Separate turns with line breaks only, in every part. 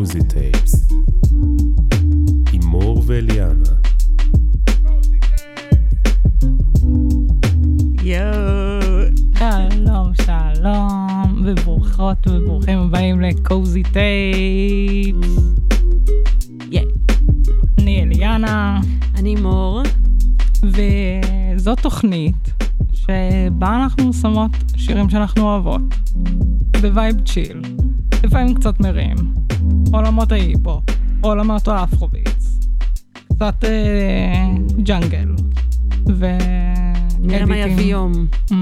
קוזי טייפס עם מור ואליאנה.
שלום, שלום, וברוכות וברוכים הבאים לקוזי טייפס. אני אליאנה.
אני מור.
וזו תוכנית שבה אנחנו שמות שירים שאנחנו אוהבות. בווייב צ'יל. לפעמים קצת מרים. עולמות ההיפו. עולמות האפרוביטס. קצת ג'נגל.
נראה מה יביא יום.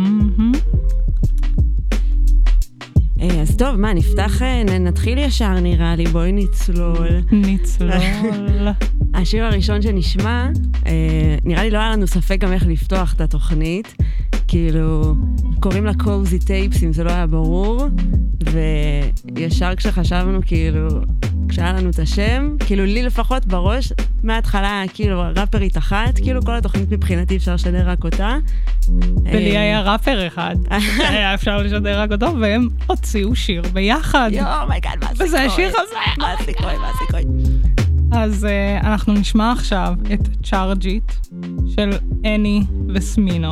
אז טוב, מה, נפתח, נתחיל ישר נראה לי, בואי נצלול.
נצלול.
השיר הראשון שנשמע, נראה לי לא היה לנו ספק גם איך לפתוח את התוכנית, כאילו, קוראים לה קוזי טייפס, אם זה לא היה ברור, וישר כשחשבנו, כאילו, כשהיה לנו את השם, כאילו לי לפחות בראש, מההתחלה, כאילו, ראפרית אחת, כאילו כל התוכנית מבחינתי אפשר לשדר רק אותה.
ולי היה ראפר אחד, היה אפשר לשדר רק אותו, והם הוציאו שיר ביחד.
מייגאד, מה הסיכוי?
וזה השיר הזה.
מה הסיכוי?
אז אנחנו נשמע עכשיו את צ'ארג'יט של אני וסמינו.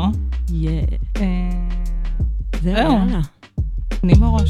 זהו, יאללה.
תני בראש.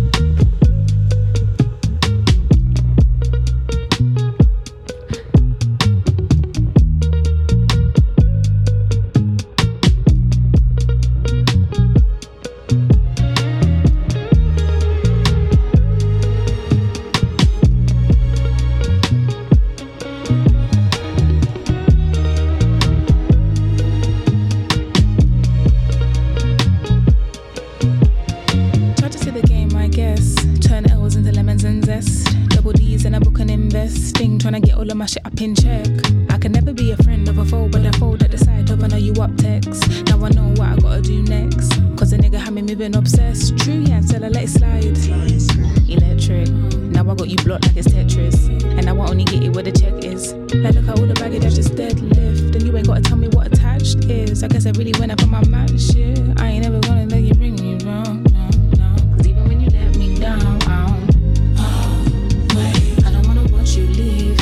Trying to get all of my shit up in check. I can never be a friend of a foe, but I fold at the side of I know you up text. Now I know what I gotta do next. Cause a nigga had me moving obsessed. True, yeah, until I let it slide. Electric. Now I got you blocked like it's Tetris. And now I only get it where the check is. Like look at all the baggage that's just deadlift. And you ain't gotta tell me what attached is. I guess I really went up on my match shit. I ain't never gonna let you bring me wrong. No. Cause even when you let me down, you leave.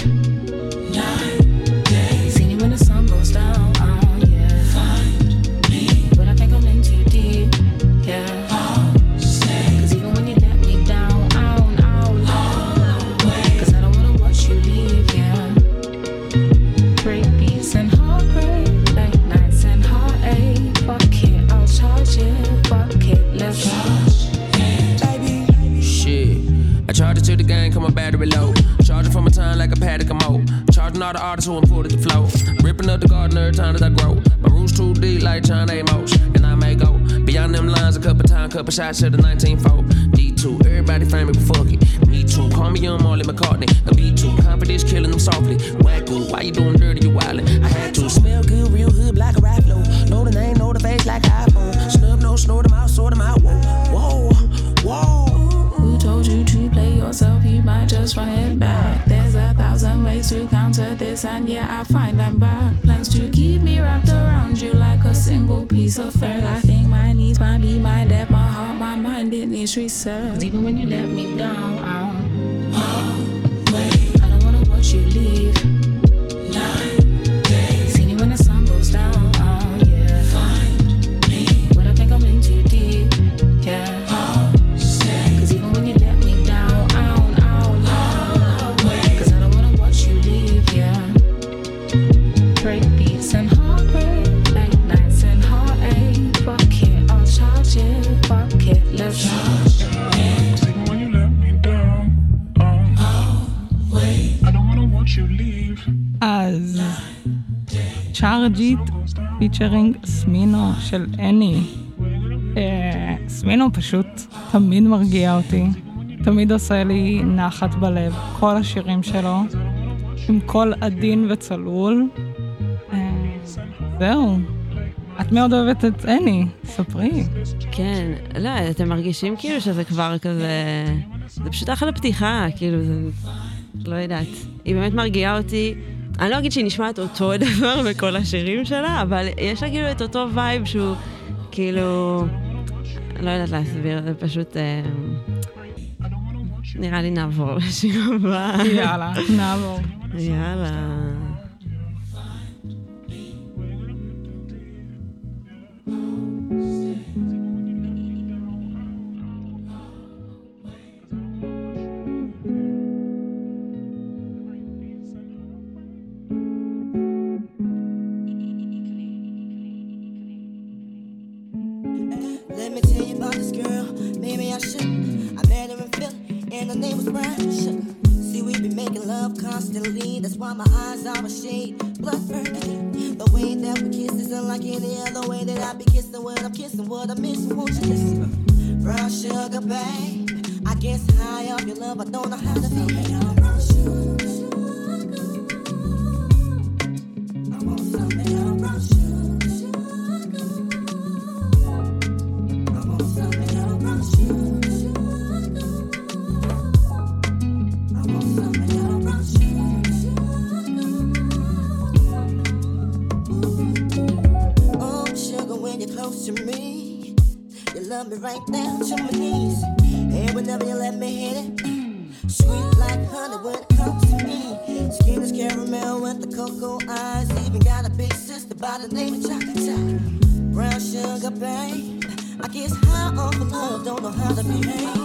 9 days. See me when the sun goes down. Yeah. Find me. But I think I'm in too deep. Yeah. Stay. Cause even when you let me down, cause I don't wanna watch you leave. Yeah. Break beats and heartbreak, late nights and heartache. Fuck it, I'll charge it. Fuck it, let's charge it.
Baby. Shit. I charge it to the game, come my battery low. Charging from a time like a paddock, I'm old. Charging all the artists who imported the flow. Ripping up the garden every time that I grow. My roots too deep like John Amos. And I may go beyond them lines a couple times, couple shots to the 19-4. D2, everybody famous, but fuck it. Me too, call me young Marley McCartney. A B2, confidence killing them softly. Wacko, why you doing dirty, you wildin'? I had to smell good, real hood, like a rap flow. Know the name, know the face like iPhone. Snub, no, snort them out, sort them out. Whoa.
Who told you to play yourself? You might just run it back. There's 1,000 ways to counter this, and yeah, I find them back. Plans to keep me wrapped around you like a single piece of thread. I think my needs might be my depth, my heart, my mind, it needs reset. 'Cause even when you let me down, I don't wanna watch you leave. 9 days. See me when the sun goes down. Yeah. Find me. When I think I'm in too deep. Yeah. Break beats and heartbreak, late nights and heartache. Fuck it, I'll charge it. Fuck it, let's charge it.
When you let me down, I don't wanna watch you leave.
אז צ'ארג'יט פיצ'רינג סמינו של אני. סמינו פשוט תמיד מרגיע אותי, תמיד עושה לי נחת בלב, כל השירים שלו עם קול עדין וצלול. זהו, את מאוד אוהבת את אני, ספרי.
כן, לא, אתם מרגישים כאילו שזה כבר כזה, זה פשוט אחלה פתיחה, כאילו זה, לא יודעת, היא באמת מרגיעה אותי. אני לא אגיד שהיא נשמעת אותו דבר בכל השירים שלה, אבל יש לה כאילו את אותו וייב שהוא כאילו, לא יודעת להסביר, זה פשוט נראה לי נעבור לשיר הבא.
יאללה, נעבור.
יאללה.
Let me tell you about this girl. Maybe I should. I met her in Philly, and her name was Brian. See, we been making love constantly. That's why my eyes are a shade blood burgundy. The way that we kiss is unlike any other way that I be kissing when I'm kissing what I'm missing. Won't you listen? Brown sugar, babe. I guess high off your love, I don't know how to behave. Brown sugar. I want something else, brown sugar. To me, you love me right down to my knees, and whenever you let me hit it, sweet like honey when it comes to me. Skin is caramel with the cocoa eyes, even got a big sister by the name of Chocolate. Brown sugar, babe. I guess high off of love, don't know how to behave.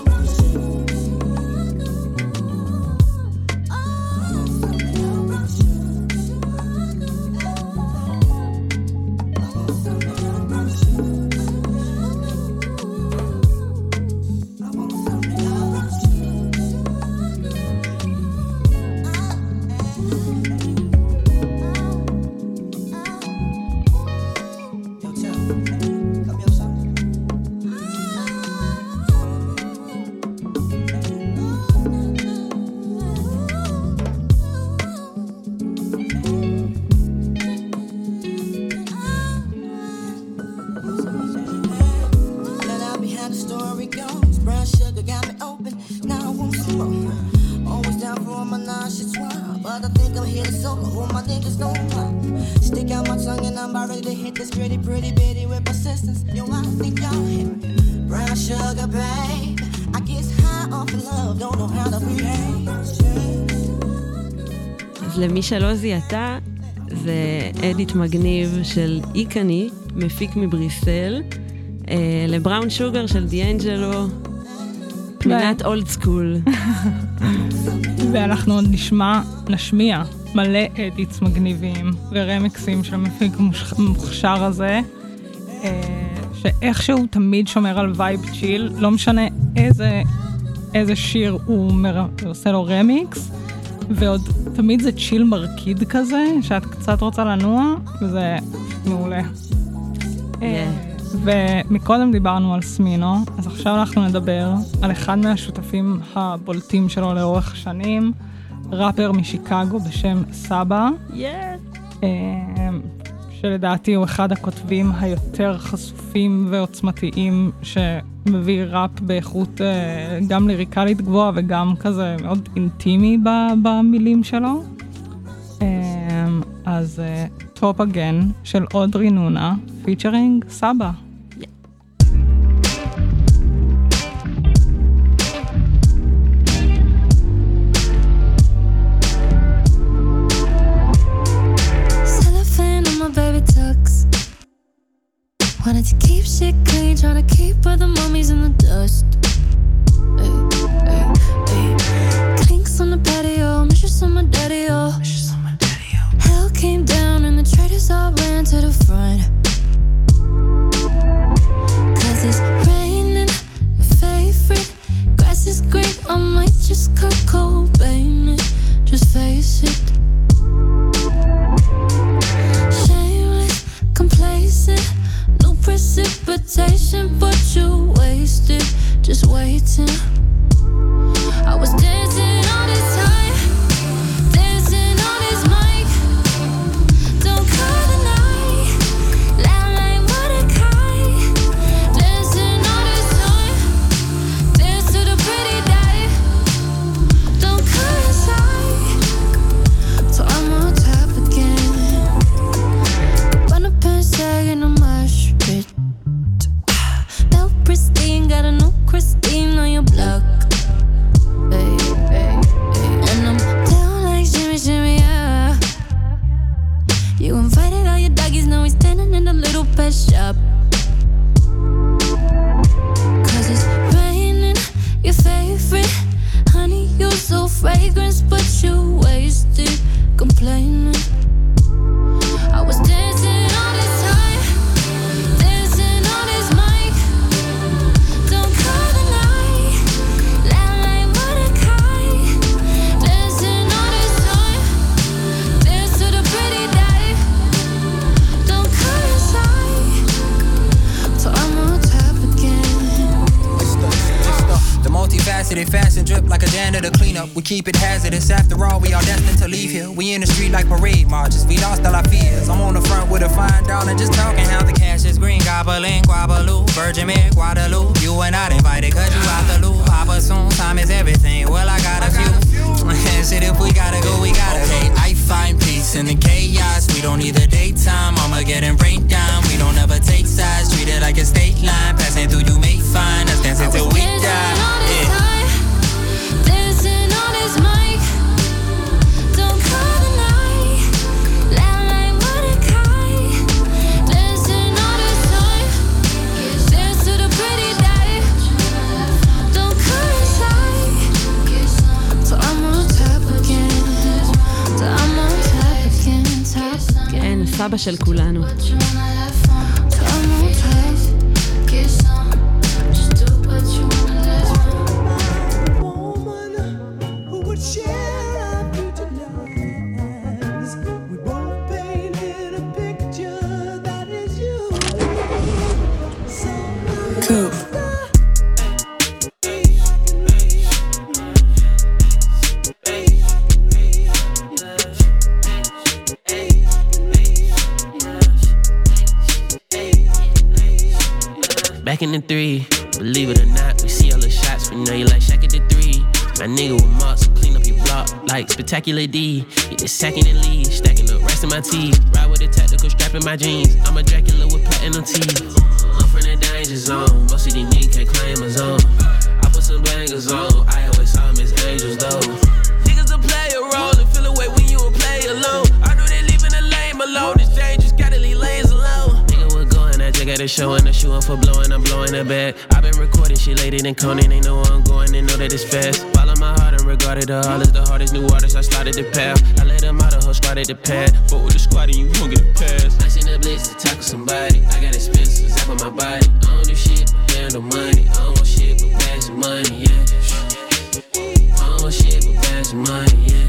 אז למי שלא זיהתה, זה אדיט מגניב של איקני, מפיק מבריסל, לבראון שוגר של דיאנג'לו, פנינת אולד סקול.
ואנחנו עוד נשמיע מלא אדיטס מגניבים ורמיקסים של המפיק המוכשר הזה, שאיכשהו תמיד שומר על וייב צ'יל, לא משנה איזה שיר הוא עושה לו רמיקס, ועוד תמיד זה צ'יל מרקיד כזה, שאת קצת רוצה לנוע, וזה מעולה. ומקודם דיברנו על סמינו, אז עכשיו אנחנו נדבר על אחד מהשותפים הבולטים שלו לאורך השנים, ראפר משיקגו בשם סבא, שלדעתי הוא אחד הכותבים היותר חשופים ועוצמתיים, שמביא ראפ באיכות גם ליריקלית גבוהה וגם כזה מאוד אינטימי במילים שלו. אז טופ אגן של אודרי נונה, פיצ'רינג סבא.
Wanted to keep shit clean, trying to keep all the mummies in the dust. Ay, ay, ay. Clinks on the patio, mistress on my daddy-o. Hell came down and the traitors all ran to the front. Cause it's raining, my favorite. Grass is green, I might just cut Cobain it. Just face it. Shameless, complacent. Precipitation, but you wasted, just waiting. I was dancing all this time, dancing on this mic. Don't call the night, loud like Mordecai. Dancing all this time, dance to the pretty day. Don't call inside, so I'm on top again. Run up and say in a mosh pit. Pristine, got a new Christine on your blood. You invited all your doggies, now we're standing in a little pet shop. Cause it's raining, your favorite honey, you're so fragrance, but you wasted complaining. I was dancing all this time, dancing on his mic. Don't call the night, loud like Mordecai. Dancing all this time, dance to the pretty day. Don't call inside, so I'm on top again.
The multifaceted fashion drip like a janitor cleanup. We keep it hazardous. After all, we are destined to leave here. We in the street like parade marches. We lost all our fears. I'm on the front with a fine dollar, just talking how the cash is green. Gobbling, Guabaloo, Virgin Mary, Guadalupe. You and not invited, cause you out the loop. Papa soon, time is everything. Well, I got a few. Shit, if we gotta go, we gotta go. Okay, I find peace in the chaos. We don't need the daytime. I'ma get in breakdown. We don't ever take sides. Treat it like a state line. Passing through, you may find us dancing till we die.
Dancing on his mic. Don't call the night, loud like Mordecai. Dancing on his time, dance to the pretty day. Don't call inside, so I'm on top again. So I'm on top again, top again.
כן, הסבא של כולנו.
So I'm on top, get some. Just do what you wanna, let's go.
Back in the 3, believe it or not, we see all the shots. We know you like Shaq at the 3. My nigga with marks, clean up your block like Spectacular D. Get the second and lead, stacking up rest in my teeth. Ride with a tactical strap in my jeans. I'm a Dracula with platinum teeth. I'm from the danger zone. Most of these niggas can't claim a zone. I put some bangers on. I always saw them as angels though. Niggas will play a role and feel away when you will play alone. I know they leaving the lame alone. It's dangerous, gotta leave lanes alone. Nigga, we're going. I just got a show and a shoe for blowing. I'm blowing the bag. I've been recording shit later than Conan. They know where I'm going. They know that it's fast. Follow my heart and regarded the hardest. The hardest new artists. I started the path. I let them out of her, started the pad. But with the squad and you won't get a pass. I seen the blitz to tackle somebody. I got expenses up on my body. I don't do shit but handle money. I don't want shit but bags of money, yeah. I don't want shit but bags of money, yeah.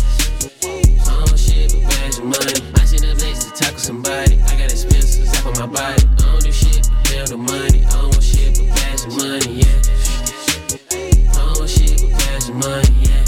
I don't want shit but bags of money. I seen the blitz to tackle somebody. I got expenses up on my body. I don't do shit but handle money. I don't want shit but bags of money, yeah. I don't want shit but bags of money, yeah.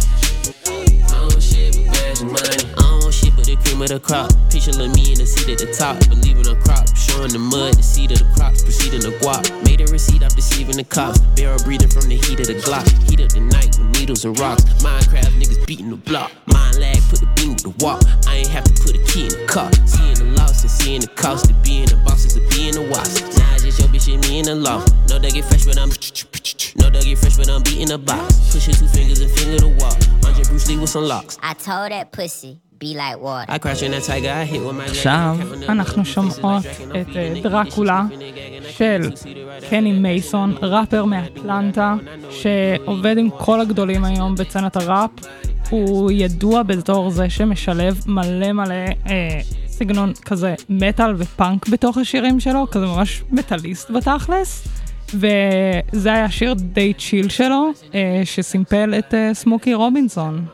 I don't want shit but bags of money. I don't want shit but the cream of the crop. Picture of me in the seat at the top. Believe in a crop. Showing the mud, the seed of the crops. Proceeding to guap. Made a receipt off deceiving the cops. Barrel breathing from the heat of the Glock. Heat of the night with needles and rocks. Minecraft niggas beating the block. Mind lag, put the beam with the walk. I ain't have to put a key in the car. Seeing the loss and seeing the cost of being the boss is to being the wasp. Now it's just your bitch and me in the loft. No, they get fresh, but I'm no, they get fresh, but I'm beating the box. Push your 2 fingers and finger the wall. Andre Bruce Lee with some locks.
I told that pussy, be like water.
I crash in that tiger, I hit with my
עכשיו אנחנו שומעות את דרקולה של קני מייסון, ראפר מאטלנטה שעובד עם כל הגדולים היום בצנת הראפ. הוא ידוע בתור זה שמשלב מלא מלא סגנון כזה מטל ופאנק בתוך השירים שלו, כזה ממש מטליסט בתכלס. וזה היה שיר די צ'יל שלו שסימפל את סמוקי רובינסון.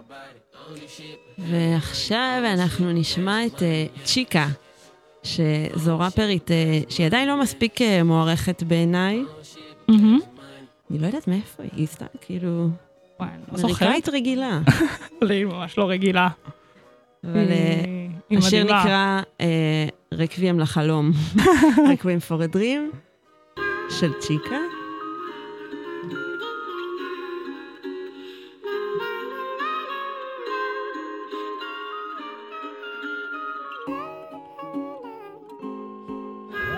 ועכשיו אנחנו נשמע את צ'יקה, שזו ראפרית שהיא עדיין לא מספיק מוערכת בעיניי. אני לא יודעת מאיפה היא, סתם כאילו אמריקאית רגילה.
היא ממש לא רגילה.
אבל השיר נקרא רקוויאם לחלום, רקוויאם פור א דרים של צ'יקה.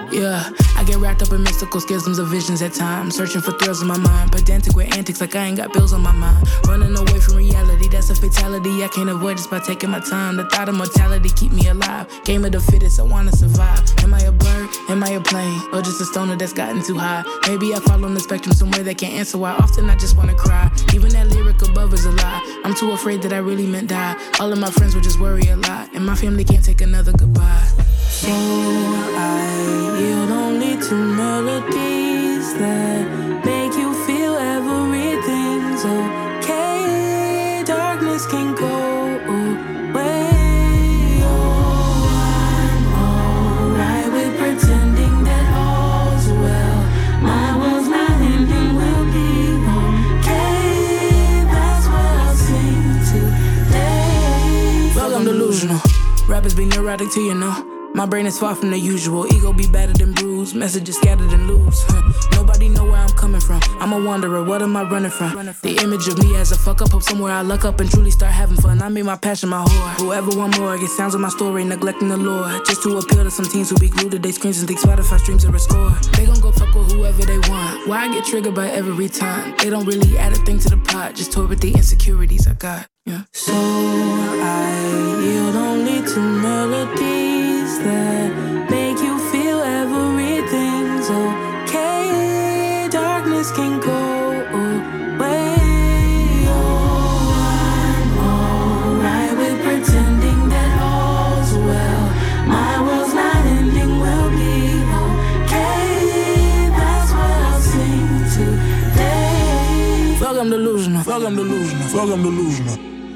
Yeah, I get wrapped up in mystical schisms of visions at times, searching for thrills in my mind, pedantic with antics like I ain't got bills on my mind, running away from reality, that's a fatality, I can't avoid this by taking my time, the thought of mortality keep me alive, game of the fittest, I wanna survive, am I a bird, am I a plane, or just a stoner that's gotten too high, maybe I fall on the spectrum somewhere that can't answer why often I just wanna cry, even that lyric above is a lie, I'm too afraid that I really meant die, all of my friends would just worry a lot, and my family can't take another goodbye. So I yield only to melodies that make you feel everything's okay. Darkness can go away. Oh, I'm alright with pretending that all's well. My world's not ending, will be okay. That's what I'll sing today. Well, I'm delusional. Rappers be neurotic too, you know. My brain is far from the usual. Ego be battered and bruised. Messages scattered and loose. Nobody know where I'm coming from. I'm a wanderer. What am I running from? The image of me as a fuck up. Hope somewhere I luck up and truly start having fun. I made my passion my whore. Whoever want more get sounds of my story, neglecting the lore. Just to appeal to some teens who be glued to their screens and think Spotify streams are a score. They gon' go fuck with whoever they want. Why I get triggered by every time? They don't really add a thing to the pot. Just toy with the insecurities I got. Yeah. So I yield only to melodies that make you feel everything's okay. Darkness can go away. Oh, I'm alright with pretending that all's well. My world's not ending, will be okay. That's what I'll sing today. Fuck, I'm delusional. Fuck, I'm delusional. Fuck, I'm delusional.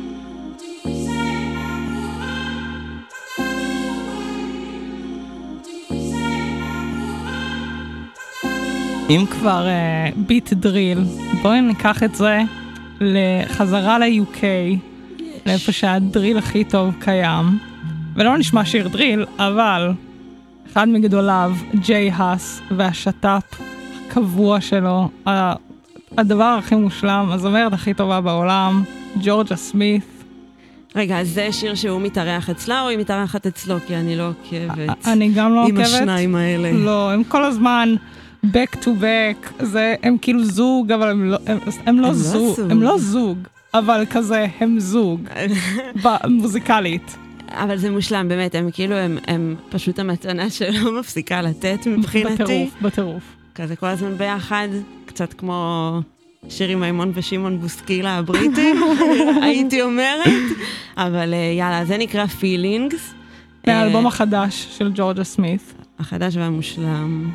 אם כבר ביט דריל, בואי ניקח את זה לחזרה ל-UK, לאיפה שהדריל הכי טוב קיים, ולא נשמע שיר דריל, אבל אחד מגדוליו, ג'יי האס, והשטאפ הקבוע שלו, הדבר הכי מושלם, הזמרת הכי טובה בעולם, ג'ורג'ה סמית.
רגע, אז זה שיר שהוא מתארח אצלה או היא מתארחת אצלו? כי אני לא עוקבת.
אני גם לא עוקבת.
עם השניים האלה.
לא, הם כל הזמן back to back, הם כאילו זוג, אבל הם לא זוג. הם לא זוג, אבל כזה הם זוג, מוזיקלית.
אבל זה מושלם, באמת, הם כאילו, הם פשוט המתנה שלא מפסיקה לתת מבחינתי.
בטירוף.
כזה כל הזמן ביחד, קצת כמו שירי מימון ושימון בוסקילה הבריטים, הייתי אומרת. אבל יאללה, זה נקרא Feelings.
מהאלבום החדש של ג'ורג'ה סמית.
החדש והמושלם.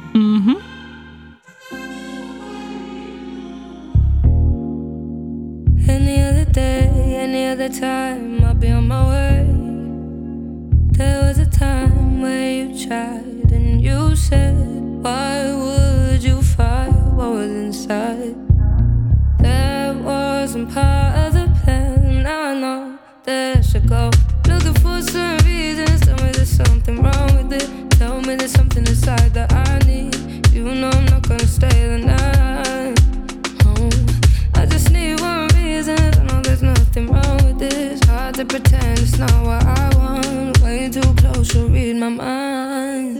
Any other day, any other time, I'll be on my way. There was a time where you tried and you said, why would you fight what was inside? That wasn't part of the plan. Now I know that I should go. Looking for some reasons, tell me there's something wrong with it. Tell me there's something inside that I need. You know I'm not gonna stay the night. Oh, I just need one reason. I know there's nothing wrong with this. Hard to pretend it's not what I want. Way too close to read my mind.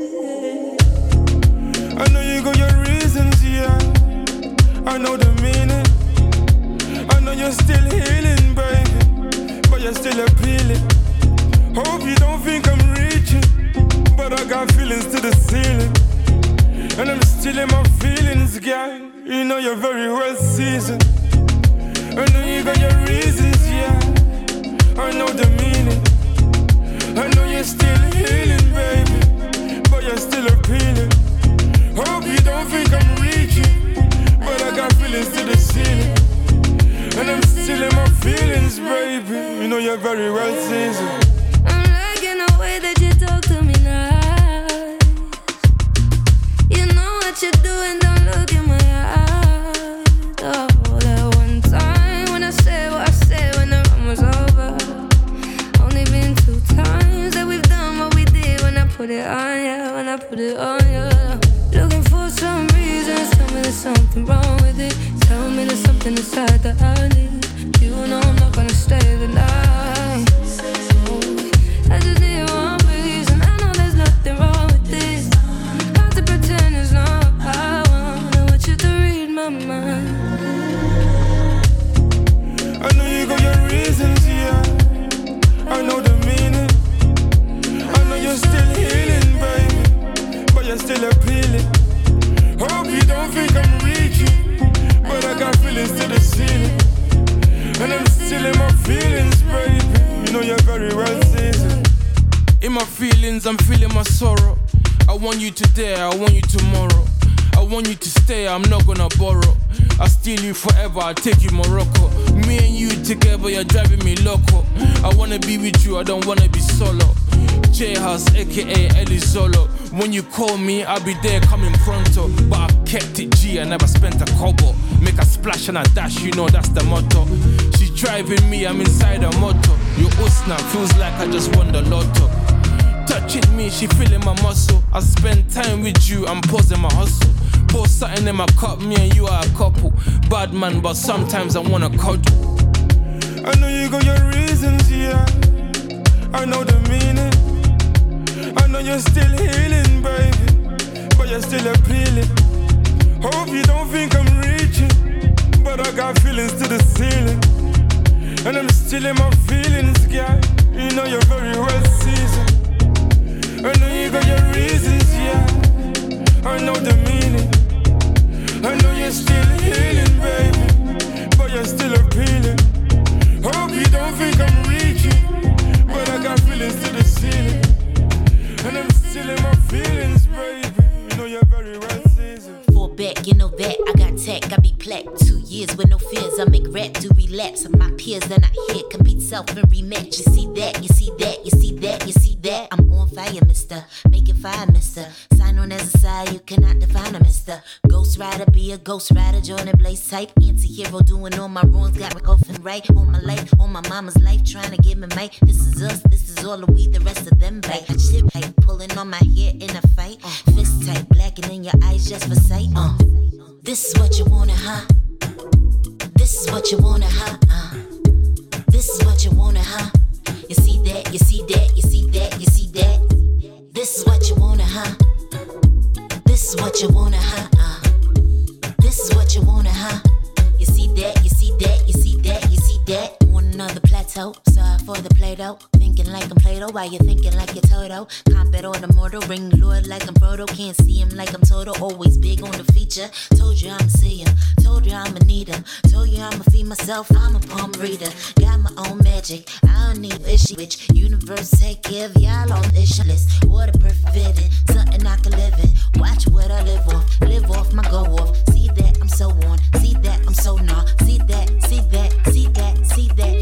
I know you got your reasons, yeah. I know the meaning. I know you're still healing, baby, but you're still appealing. Hope you don't think I'm reaching, but I got feelings to the ceiling. And I'm still in my feelings, girl. You know you're very well seasoned. I know you got your reasons, yeah. I know the meaning. I know you're still healing, baby, but you're still appealing. Hope you don't think I'm reaching, but I got feelings to the ceiling. And I'm still in my feelings, baby. You know you're very well seasoned.
I'm liking the way that you talk to me nice. You know what you're doing, don't look in my eyes. Oh, that one time when I said what I said when the run was over. Only been 2 times that we've done what we did when I put it on you, when I put it on you. Looking for some reasons, tell me there's something wrong with it. Tell me there's something inside that I need. You know I'm not gonna stay the night. I just need one reason. I know there's nothing wrong with this.
feelings, I'm feeling my sorrow. I want you today, I want you tomorrow. I want you to stay, I'm not gonna borrow. I'll steal you forever, I'll take you Morocco. Me and you together, you're driving me loco. I wanna be with you, I don't wanna be solo. J-House, aka Elizolo. When you call me, I'll be there coming pronto. But I kept it G, I never spent a kobo. Make a splash and a dash, you know that's the motto. She's driving me, I'm inside a motor. Your Usna feels like I just won the lotto. Touching me, she feeling my muscle. I spend time with you, I'm pausing my hustle. Pour something in my cup, me and you are a couple. Bad man, but sometimes I wanna cuddle.
I know you got your reasons, yeah. I know the meaning. I know you're still healing, baby, but you're still appealing. Hope you don't think I'm reaching, but I got feelings to the ceiling. And I'm still in my feelings, girl. You know you're very well seasoned. I know you got your reasons, yeah. I know the meaning. I know you're still healing, baby, but you're still appealing. Hope you don't think I'm reaching, but I got feelings to the ceiling. And I'm still in my feelings, baby. You know you're very well seasoned.
Fall back, you know that. I got tech, I be plaque. 2 years with no fears. I make rap do relapse. And my peers, they're not here. Compete self and rematch. You see that, you see that, you see that, you see that. I'm on fire, mister. Making fire, mister. Sign on as a side, you cannot define a mister. Ghost rider, be a ghost rider. Join the blaze type. Anti-hero doing all my wrongs. Got me coughing right. On my life, on my mama's life. Trying to get me mic. This is us, this is all of we. The rest of them bite. Shit tight, pulling on my hair in a fight. Fist tight, blackening your eyes just for sight. This is what you wanna, huh? This is what you wanna, huh? This is what you wanna, huh? You see that, you see that, you see that, you see that. This is what you wanna, huh? This is what you wanna, huh? This is what you wanna, huh? You see that, you see that, you see that, you see that. On another plateau, sorry for the Play-Doh. Thinking like I'm Play-Doh, while you're thinking like you're Toto. Comp it or the mortal, ring Lord like I'm Frodo. Can't see him like I'm Toto, always big on the feature. Told you I'ma see him, told you I'ma need him. Told you I'ma feed myself, I'm a palm reader. Got my own magic, I don't need issue. Which universe take care of y'all on this list. What a perfect vision, something I can live in. Watch what I live off my go off. See that I'm so on, see that I'm so nah. See that, see that, see that, see that.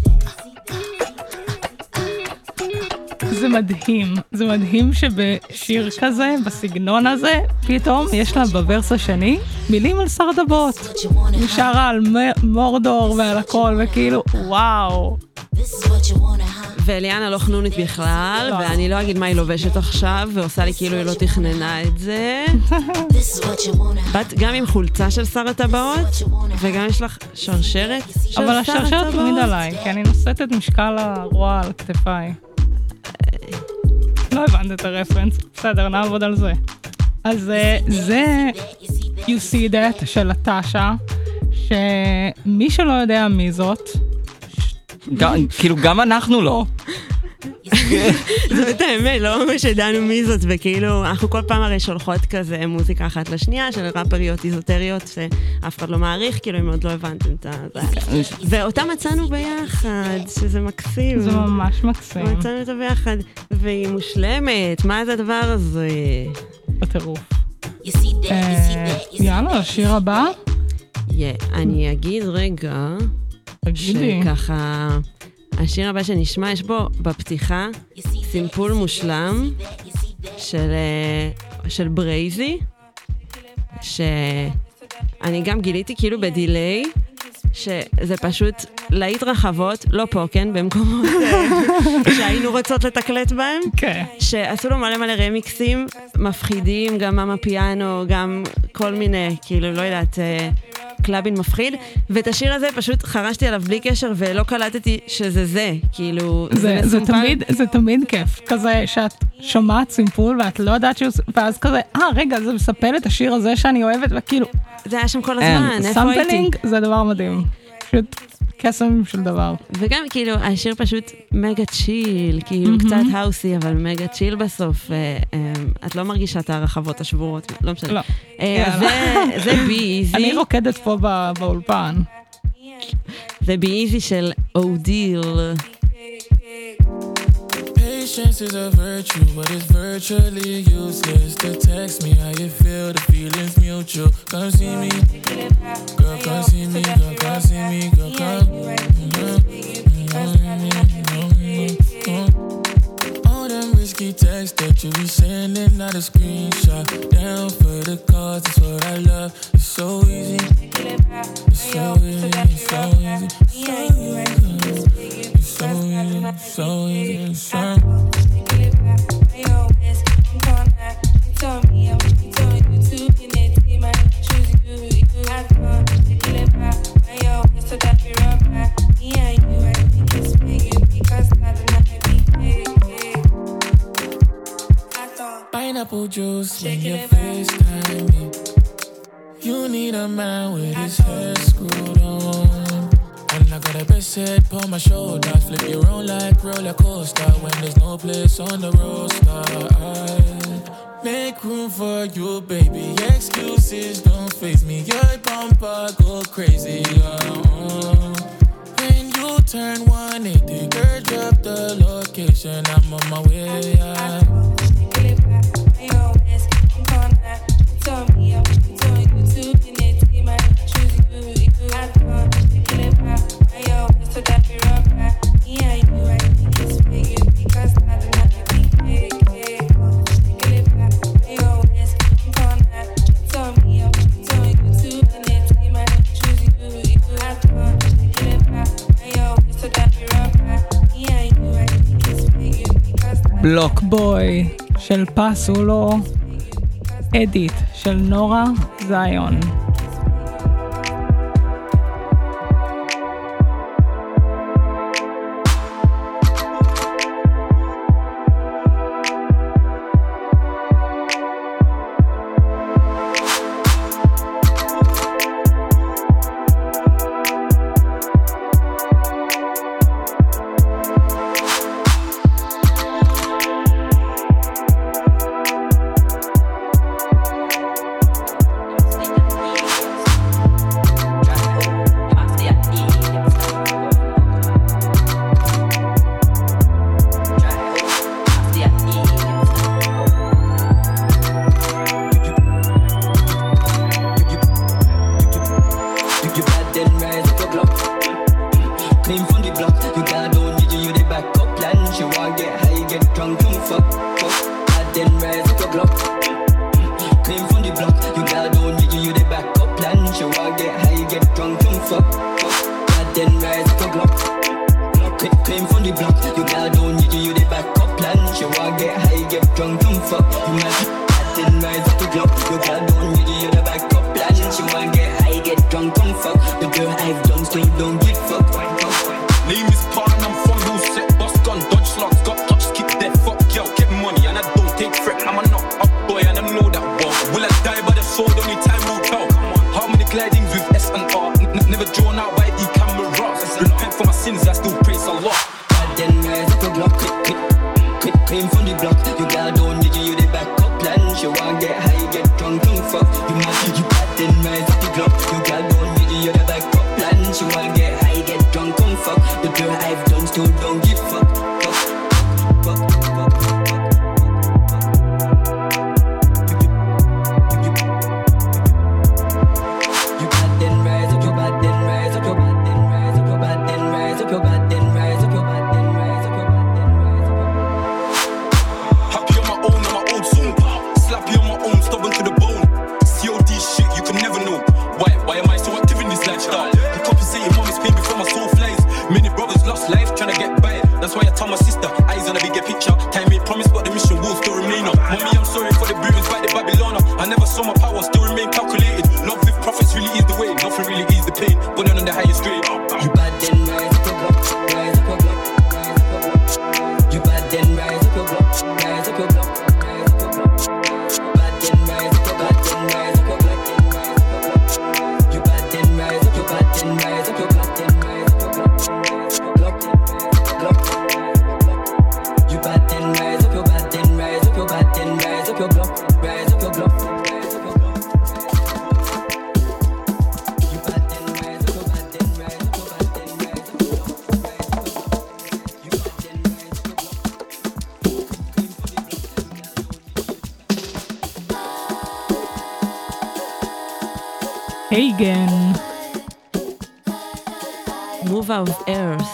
זה מדהים, זה מדהים שבשיר כזה, בסגנון הזה, פתאום יש לה בוורס השני מילים על סרדבות. נשארה על מורדור ועל הכל, וכאילו, וואו.
ואליאנה לא חנונית בכלל, ואני לא אגיד מה היא לובשת עכשיו, ועושה לי כאילו היא לא תכננה את זה. בת גם עם חולצה של שר הטבעות, וגם יש לך שרשרת של שר הטבעות. אבל
השרשרת תמיד עליי, כי אני נושאת את משקל הרוע על כתפיי. לא הבנת את הרפרנס, בסדר, נעבוד על זה. אז זה You See That של הטשה, שמי שלא יודע מי זאת,
כאילו גם אנחנו לא.
זאת האמת, לא ממש ידענו מי זאת, וכאילו אנחנו כל פעם הרי שולחות כזה מוזיקה אחת לשנייה של ראפריות איזוטריות שאף אחד לא מעריך, כאילו אם עוד לא הבנתם את זה. ואותה מצאנו ביחד, שזה מקסים.
זה ממש מקסים.
מצאנו אותה ביחד, והיא מושלמת, מה זה הדבר הזה?
בטירוף. יאללה, השיר הבא?
אני אגיד רגע, שככה... השיר הבא שנשמע, יש בו בפתיחה סימפול מושלם של ברייזי, שאני גם גיליתי כאילו בדיליי, שזה פשוט להיט רחבות, לא פה, כן, במקומות שהיינו רוצות לתקלט בהם, שעשו לו מלא מלא רמיקסים, מפחידים, גם מאמה פיאנו, גם כל מיני, כאילו, לא יודעת... קלאבין מפחיד, ואת השיר הזה פשוט חרשתי עליו בלי קשר, ולא קלטתי שזה זה, כאילו,
זה תמיד כיף, כזה שאת שומעת סימפול, ואת לא יודעת ואז כזה, רגע, זה מספל את השיר הזה שאני אוהבת, וכאילו...
זה היה שם כל הזמן, איפה הייתי?
סמפלינג זה דבר מדהים, פשוט קסם של דבר.
וגם כאילו, השיר פשוט מגה צ'יל, כאילו קצת האוסי, אבל מגה צ'יל בסוף, את לא מרגישה את הרחבות השבורות, לא משנה.
לא.
זה בי איזי.
אני רוקדת פה באולפן.
זה בי איזי של אודיל.
Patience is a virtue, but it's virtually useless to text me how you feel, the feeling's mutual. Come see me, girl, come see me, girl, come see me, girl, come. All them risky texts that you be sending, not a screenshot. Down for the cause, that's what I love. It's so easy, it's so easy, it's so easy, it's so easy, it's so easy, it's so easy. Pineapple juice when you FaceTime me. You need a man with his head screwed on. And I got a best head on my shoulder. Flip you around like roller coaster when there's no place on the roster. I make room for you, baby. Excuses don't faze me. Your bumper go crazy. When you turn 180, girl, drop the location. I'm on my way.
בלוק בוי של פסולו, אדיט של נורה זיון. הייגן.
Move out of earth.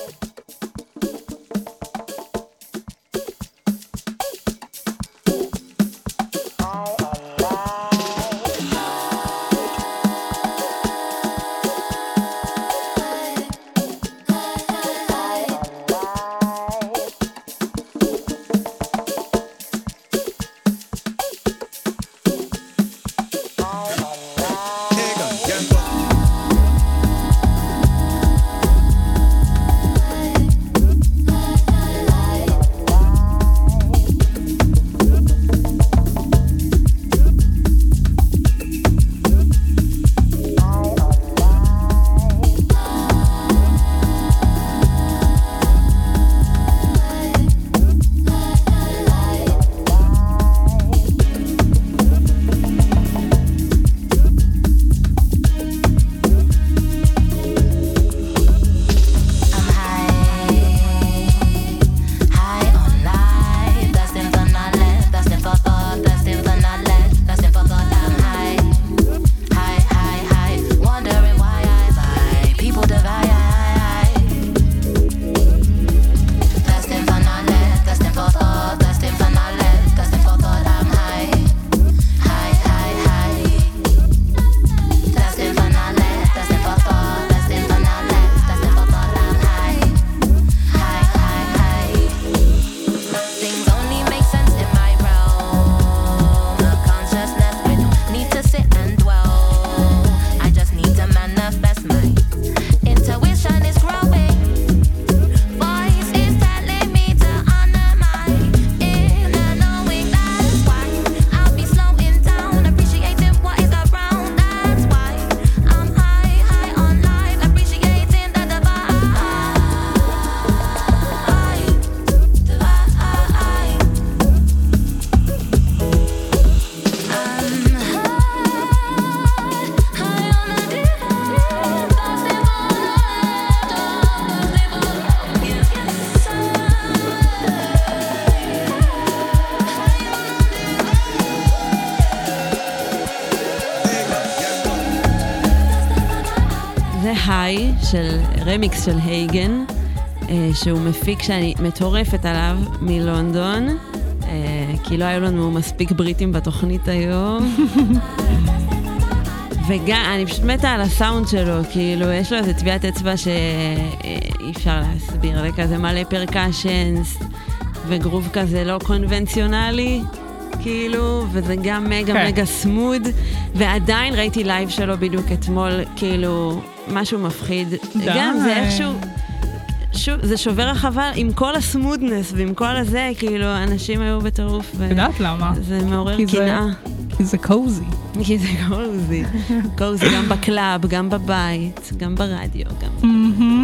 היי של רמיקס של הייגן, שהוא מפיק שאני מטורפת עליו מלונדון, כי לא היו לנו מספיק בריטים בתוכנית היום. וגם, אני פשוט מתה על הסאונד שלו, כאילו, יש לו איזה טביעת אצבע שאי אפשר להסביר, זה כזה מלא פרקשנס, וגרוב כזה לא קונבנציונלי, כאילו, וזה גם מגה סמוד, ועדיין ראיתי לייב שלו בדיוק אתמול, כאילו, משהו מפחיד. גם זה איכשהו, זה שובר החווה עם כל הסמודנס, ועם כל הזה, כאילו, אנשים היו בטירוף.
יודעת למה?
זה מעורר קנאה.
כי זה קוזי.
כי זה קוזי. קוזי גם בקלאב, גם בבית, גם ברדיו, גם...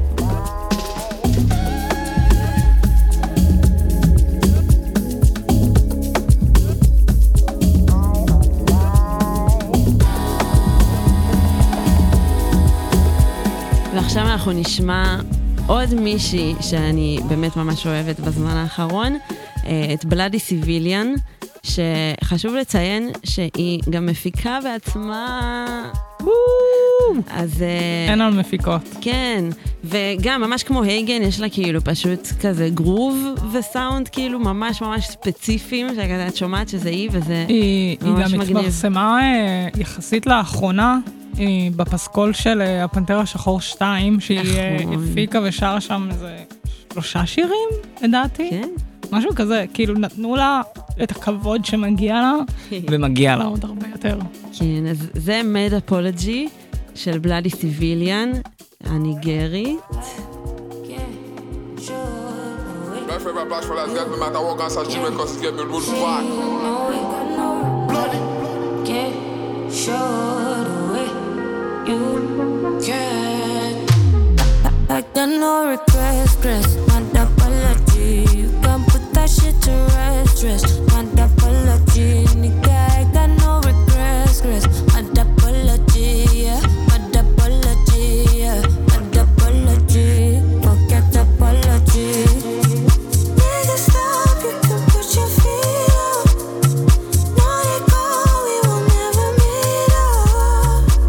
ועכשיו אנחנו נשמע עוד מישהי שאני באמת ממש אוהבת בזמן האחרון, את בלאדי סיביליאן, שחשוב לציין שהיא גם מפיקה בעצמה. אז...
אין על מפיקות.
כן, וגם ממש כמו הייגן, יש לה כאילו פשוט כזה גרוב וסאונד כאילו ממש ממש ספציפיים, שאת שומעת שזה היא וזה ממש מגניב.
היא גם התפרסמה יחסית לאחרונה, בפסקול של הפנתר השחור 2, שהיא הפיקה ושרה שם איזה 3 שירים, לדעתי.
כן.
משהו כזה, כאילו נתנו לה את הכבוד שמגיע לה, ומגיע לה עוד הרבה יותר.
כן, אז זה מד אפולוגי של בלאדי סיביליאן, הניגרית.
Like the no regrets, stress, my apology. You can put that shit to rest, stress, my apology. Nigga, I got no regrets, stress, my apology, yeah, my apology, yeah, my apology. Forget apology. Nigga, stop, you can put your feet up. Now you go, we will never meet up.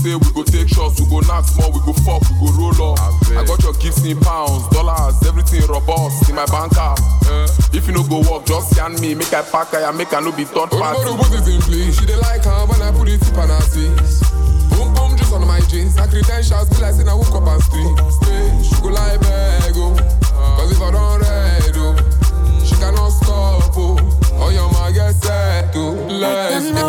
say we go take shots, we go knock small, we go fuck, we go roll up. I got your gifts in pounds, dollars, everything robust in my bank app. If you no go work, just scan me, make I pack, I make I no be third party.
Oh, put it in place, she dey like her when I put it tip on her face. Boom boom, just on my jeans, her credentials be like saying I woke up and street. She go like beg, oh, cause if I don't read, oh, she cannot stop, oh, your man get set, oh, let's go.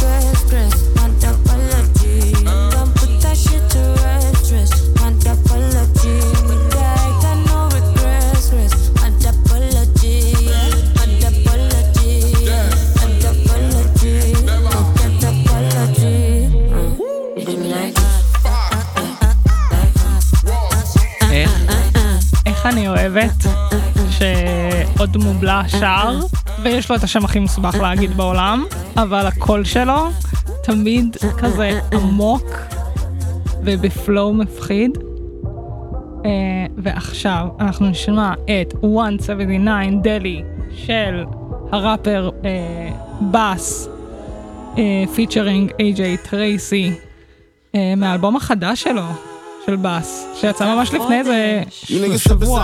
אני אוהבת שעוד מובלע שר, ויש לו את השם הכי מסובך להגיד בעולם, אבל הקול שלו תמיד כזה עמוק ובפלואו מפחיד. ועכשיו אנחנו נשמע את 179 דלי של הראפר בס פיצ'רינג איי-ג'יי טרייסי מהאלבום החדש שלו של בס, שיצא ממש לפני איזה שבוע.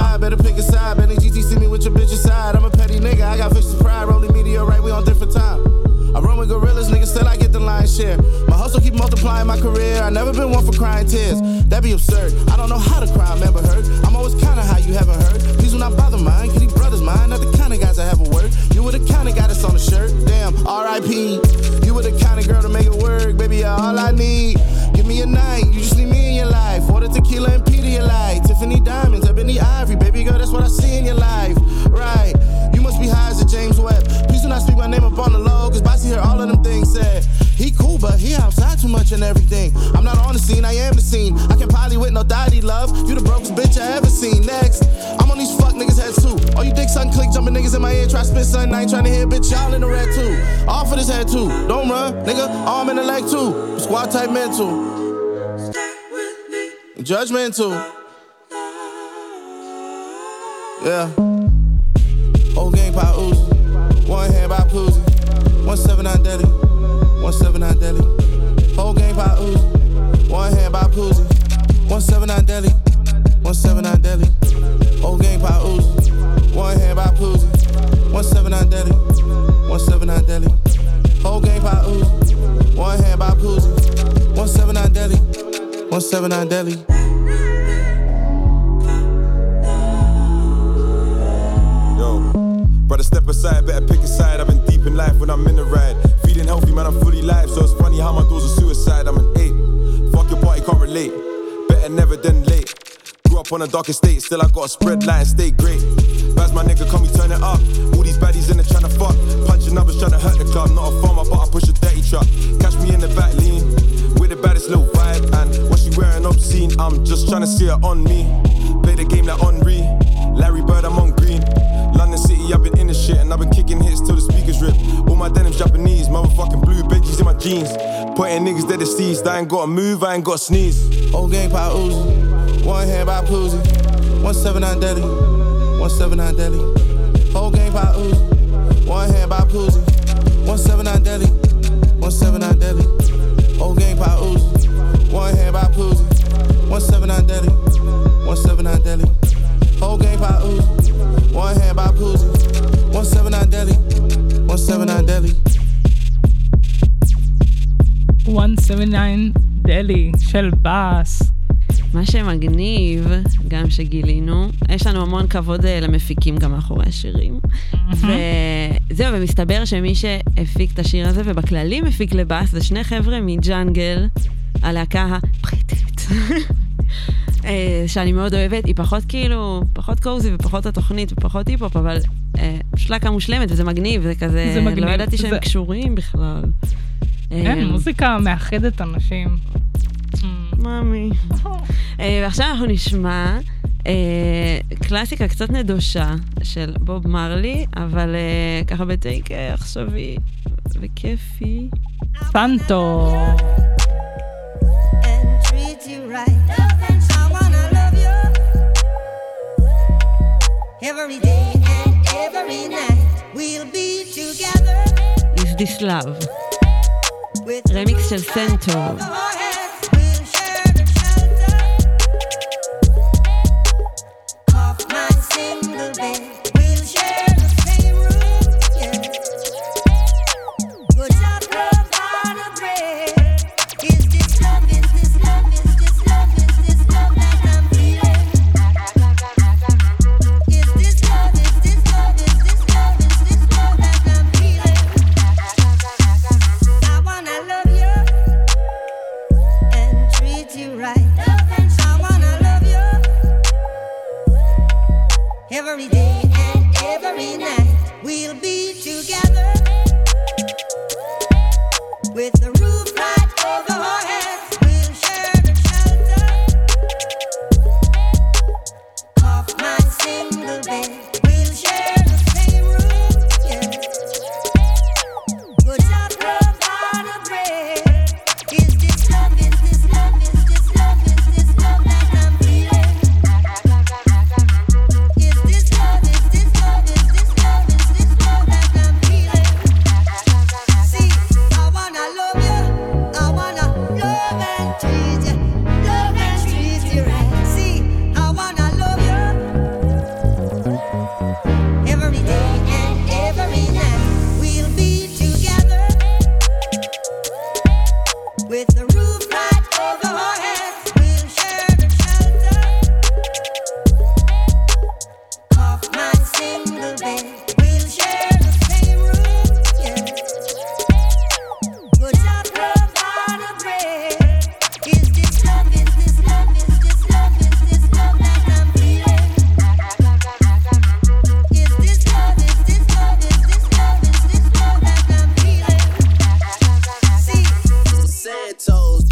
I run with gorillas, niggas, still I get the lion's share. My hustle keep multiplying my career. I never been one for crying tears. That'd be absurd. I don't know how to cry, I never heard. I'm always kinda high, you haven't heard. Please do not bother mine, can these brothers mine? Not the kind of guys I have a word. You were the kind of guy that's on the shirt. Damn, R.I.P. You were the kind of girl to make it work. Baby, you're all I need. Give me a night, you just need me in your life. Order tequila and Pedialyte. Tiffany diamonds, Ebony Ivory. Baby girl, that's what I see in your life. Right, you must be high as a James Webb. Please do not speak my name up on the low, cause Bossy heard all of them things said. He cool, but he outside too much and everything. I'm not on the scene, I am the scene. I can poly with no daddy love. You the brokest bitch I ever seen. Next, I'm on these fuck niggas' heads too. All you dick sucking click jumping niggas in my ear. Try spit something, I ain't trying to hear bitch y'all in the red too. All for this head too. Don't run, nigga, arm in the leg too. Squad type mental. Judgmental. Yeah. Whole gang pop Uzi. One hand by Poozy. 179 Deli. 179 Deli. Whole gang pop Uzi. One hand by Poozy. 179 Deli. 179 Deli. Whole gang pop Uzi. One hand by Poozy. 179 Deli. 179 Deli. Whole gang pop Uzi. One hand by Poozy. 179 Deli. 179 Deli.
Brother, step aside, better pick a side. I've been deep in life when I'm in the ride. Feeling healthy, man, I'm fully live. So it's funny how my doors are suicide. I'm an 8. Fuck your party, can't relate. Better never than late. Grew up on a dark estate, still I got a spread line, stay great. Baz my nigga, come me turn it up. All these baddies in there tryna fuck. Punching numbers tryna hurt the club. Not a farmer, but I push a dirty truck. Catch me in the back lean with the baddest little vibe. And what she wearing obscene, I'm just tryna see her on me. Play the game like Henri. Larry Bird, I'm on green. London City, I've been in the shit and I've been kicking hits till the speakers rip. All my denim's Japanese, motherfucking blue Benjis in my jeans. Putting niggas dead deceased, I ain't gotta move, I ain't gotta sneeze.
Whole gang pop Uzi, one hand by Poozy. 179 Deli, 179 Deli. Whole gang pop Uzi, one hand by Poozy. 179 Deli, 179 Deli. Whole gang pop Uzi, one hand by Poozy. 179 Deli, 179 Deli. Whole gang pop Uzi, one hand by Poozy. 179 Deli, 179 Deli.
179 דלי של בס.
מה שמגניב, גם שגילינו, יש לנו המון כבוד למפיקים גם מאחורי השירים. וזהו, ומסתבר שמי שהפיק את השיר הזה, ובכללי מפיק לבס, זה שני חבר'ה מג'אנגל, הלהקה הפריטית. שאני מאוד אוהבת, היא פחות כאילו, פחות קוזי ופחות התוכנית ופחות היפ-הופ, אבל שלקה מושלמת וזה מגניב, זה כזה, לא ידעתי שהם קשורים בכלל.
כן, מוזיקה מאחדת אנשים.
מאמי. ועכשיו אנחנו נשמע קלאסיקה קצת נדושה של בוב מרלי, אבל ככה בטייק עכשווי וכיפי.
סנטו.
Every day and every night we'll be together.
Is this love? רמיקס של סנטו.
we'll be together with the roof right over our heads. We'll share the shelter of my single bed. We'll share the same room, yeah. Good job, provide a bread. Is this love, is this love, is this love, is this love that I'm feeling? Is this love, is this love, is this love, is this love that I'm feeling? See, I wanna love you, I wanna love and treat you right. See, I wanna love you every day and every night. We'll be together with the roof right over our heads. We'll share the shelter of my single bed. We'll share the same room, yeah. Good job, provide a bread. Is this love, is this love, is this love, is this love that I'm feeling? Is this love, is this love, is this love, is this love that I'm feeling? See,
Santos.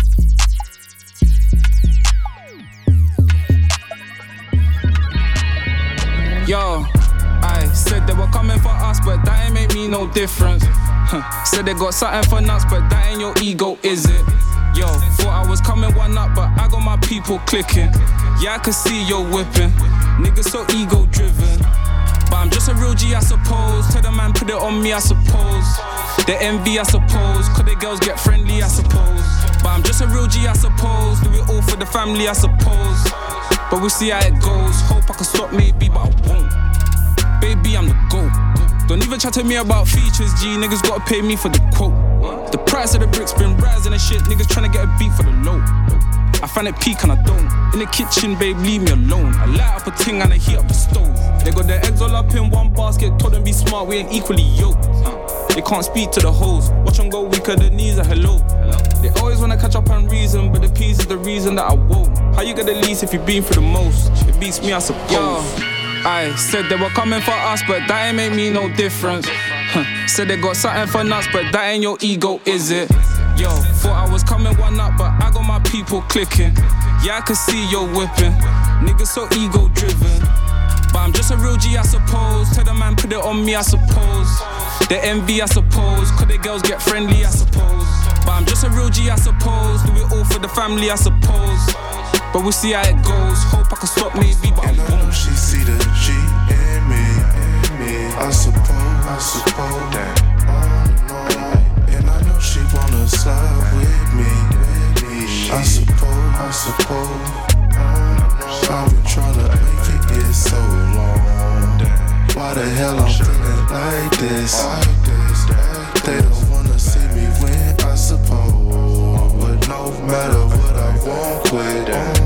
Yo, I said they were coming for us, but that ain't make me no difference. Said they got something for nuts, but that ain't your ego, is it? Yo, thought I was coming one up, but I got my people clicking. Yeah, I can see you're whipping. Niggas so ego driven. But I'm just a real G, I suppose. Tell the man, put it on me, I suppose. The envy, I suppose. Cause the girls get friendly, I suppose. But I'm just a real G, I suppose. Do it all for the family, I suppose. But we'll see how it goes. Hope I can stop maybe, but I won't. Baby, I'm the GOAT. Don't even chat to me about features, G. Niggas gotta pay me for the quote. The price of the bricks been rising and shit. Niggas tryna get a beat for the low. I find it peak and I don't. In the kitchen, babe, leave me alone. I light up a ting and I heat up the stove. They got their eggs all up in one basket. Told them be smart, we ain't equally yoked. They can't speak to the hoes. Watch them go weaker, the knees are hello. They always wanna catch up on reason, but the peace is the reason that I won't. How you get the least if you've been through the most? It beats me, I suppose. Yo, I said they were coming for us, but that ain't make me no difference. Said they got something for nuts, but that ain't your ego, is it? Yo, thought I was coming one up, but I got my people clicking. Yeah, I can see you're whipping. Niggas so ego driven. But I'm just a real G, I suppose. Tell the man, put it on me, I suppose. The envy, I suppose. Cause the girls get friendly, I suppose. But I'm just a real G, I suppose. Do it all for the family, I suppose. But we'll see how it goes. Hope I can stop maybe, but I won't.
She see the G in me. I suppose that. And I know she wanna slide with me. I suppose. I've been trying to make it get so long. Why the hell I'm feeling like this? They don't wanna see me win, I suppose. But no matter what, I won't quit.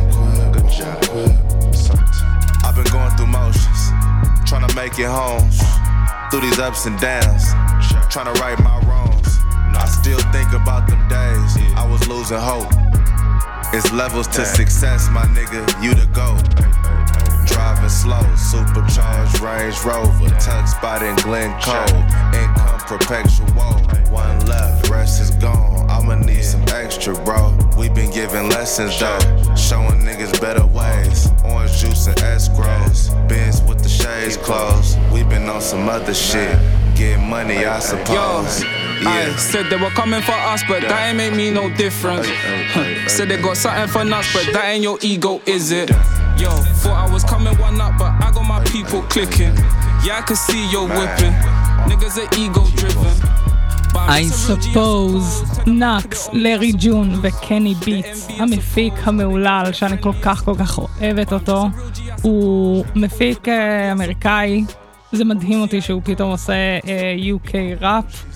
I've been going through motions, trying to make it home. Through these ups and downs, trying to right my wrongs. I still think about them days I was losing hope. It's levels to success, my nigga, you the GOAT. Driving slow, supercharged Range Rover, tuck spot in Glencoe, income perpetual. One left, rest is gone. I'ma need some extra, bro. We been giving lessons though, showing niggas better ways. Orange juice and escrows, Benz with the shades closed. We been on some other shit, get money, I suppose.
I said they were coming for us, but that ain't make me no difference. Said they got something for nuts, but that ain't your ego, is it? Yo, thought I was coming one up, but I got my people clicking. Yeah, I can see you're whipping. Niggas are ego driven.
I suppose, נאקס, לארי ג'ון וקני ביטס, המפיק המעולל שאני כל כך אוהבת אותו, הוא מפיק אמריקאי, זה מדהים אותי שהוא פתאום עושה UK ראפ,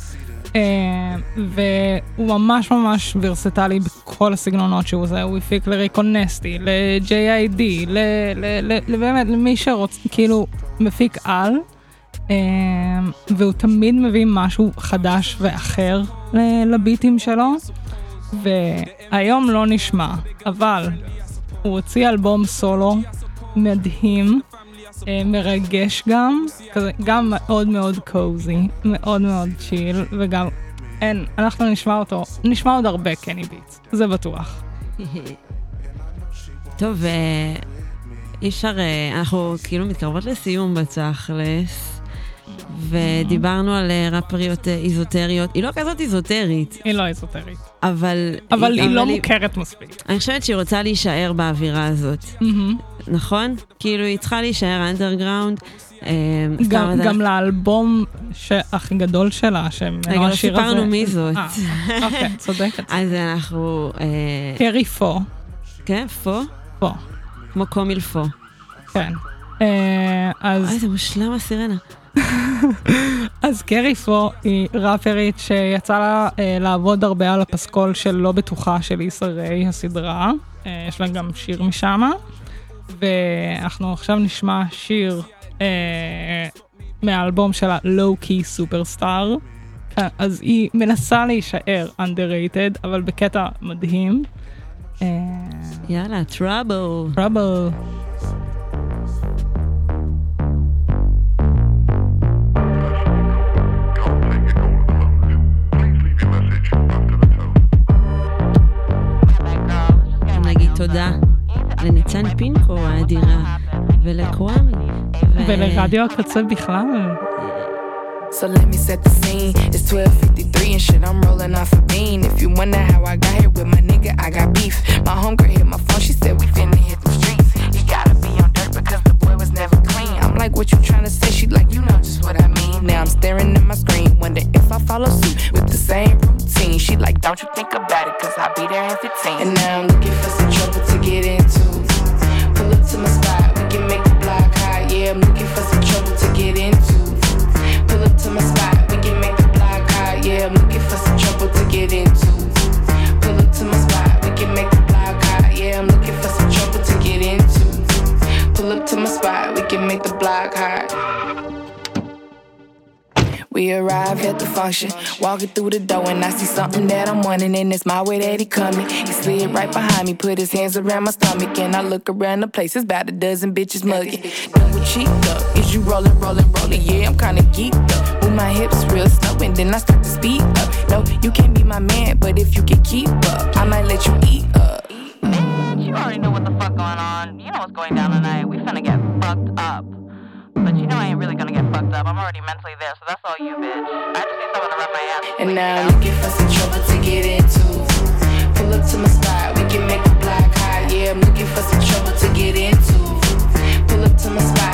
והוא ממש ממש ורסטלי בכל הסגנונות שהוא עושה. הוא הפיק לריקון נסטי, ל-JID, באמת למי שרוצה, כאילו מפיק על, והוא תמיד מביא משהו חדש ואחר לביטים שלו, והיום לא נשמע, אבל הוא הוציא אלבום סולו מדהים, מרגש גם, כזה, גם מאוד מאוד קוזי, מאוד מאוד צ'יל, וגם אנחנו נשמע עוד הרבה קני ביטס, זה בטוח.
טוב, אי אפשר, אנחנו כאילו מתקרבות לסיום בתכלס, ודיברנו על רפריות איזוטריות. היא לא כזאת איזוטרית.
היא לא איזוטרית.
אבל
היא לא מוכרת מספיק.
אני חושבת שהיא רוצה להישאר באווירה הזאת. נכון? כאילו היא צריכה להישאר אנדרגראונד.
גם לאלבום הכי גדול שלה,
רגע, לא סיפרנו מי זאת.
אוקיי, צודקת.
אז אנחנו...
קרי פו.
כן, פו?
פו.
כמו קומיל פו.
כן. אז...
זה מושלם הסירנה.
אז קרי פו היא ראפרית שיצא לה לעבוד הרבה על הפסקול של לא בטוחה של איסה ריי, הסדרה. יש לה גם שיר משם. ואנחנו עכשיו נשמע שיר מהאלבום שלה, Low Key Superstar. אז היא מנסה להישאר underrated, אבל בקטע מדהים.
יאללה, Trouble.
Trouble.
נגיד תודה לניצן פינקו האדירה, ולקוואמי,
ולרדיו הקצה בכלל.
So let me set the scene. It's 12:53 and shit, I'm rolling off a bean. If you wonder how I got here with my nigga, I got beef. My homegirl hit my phone, she said we finna hit the streets. You gotta be on dirt because the boy was never clean. I'm like, what you tryna say? She like, you know just what I mean. Now I'm staring at my screen, wonder if I follow suit with the same routine. She like, don't you think about it, cause I'll be there in 15. And now I'm looking for some trouble to get into. Pull up to my spot, we can make the block hot. Yeah, I'm looking for some trouble to get into. Pull up to my spot, we can make the block hot. Yeah, I'm looking for some trouble to get into. Pull up to my spot, we can make the block hot. Yeah, I'm looking for some trouble to get into. Pull up to my spot, we can make the block hot. We arrive at the function, walking through the door and I see something that I'm wanting and it's my way that he coming. He slid right behind me, put his hands around my stomach and I look around the place, it's about a dozen bitches mugging. Double cheeked up, is you rolling, rolling, rolling? Yeah, I'm kinda geeked up. Move my hips real slow and then I start to speed up. No, you can't be my man, but if you can keep up, I might let you eat up.
You already know what the fuck going on. You know what's going down tonight. We finna get fucked up. But you know I ain't really gonna get fucked up. I'm already mentally there, so that's all you, bitch. I just need someone to rub my ass.
And now I'm looking for some trouble to get into. Pull up to my spot, we can make the block hot. Yeah, I'm looking for some trouble to get into. Pull up to my spot.